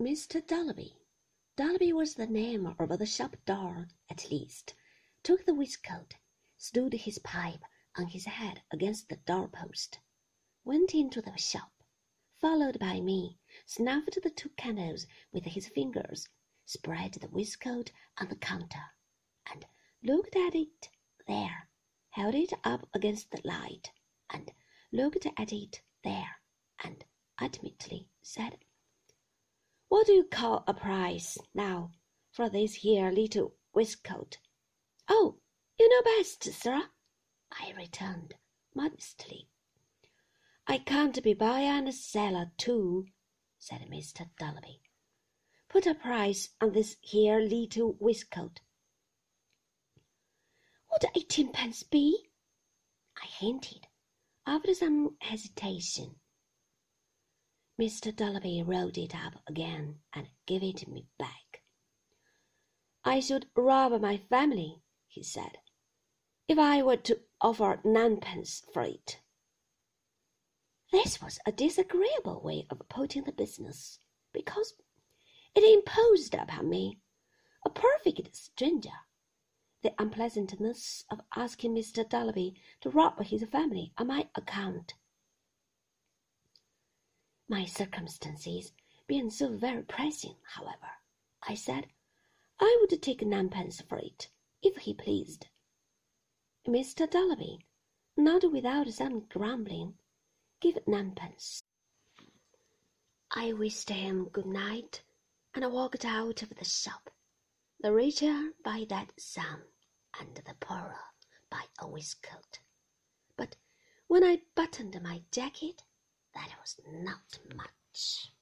Mr. Dolby was the name of the shop door, at least, took the waistcoat, stood his pipe on his head against the doorpost, went into the shop, followed by me, snuffed the 2 candles with his fingers, spread the waistcoat on the counter, and looked at it there, held it up against the light, and looked at it there, and ultimately said, "What do you call a price, now, for this here little waistcoat?" "Oh, you know best, sir," I returned modestly. "I can't be buyer and seller too," said Mr. Dolby. "Put a price on this here little waistcoat." "Would 18 pence be?" I hinted, after some hesitation. Mr. Dolby rolled it up again and gave it me back. "I should rob my family," he said, "if I were to offer 9 pence for it." This was a disagreeable way of putting the business, because it imposed upon me, a perfect stranger, the unpleasantness of asking Mr. Dolby to rob his family on my account. My circumstances being so very pressing, however, I said I would take 9 pence for it, if he pleased. Mr. Dolby, not without some grumbling, gave 9 pence. I wished him good night, and walked out of the shop, the richer by that sum, and the poorer by a waistcoat. But when I buttoned my jacket, that was not much.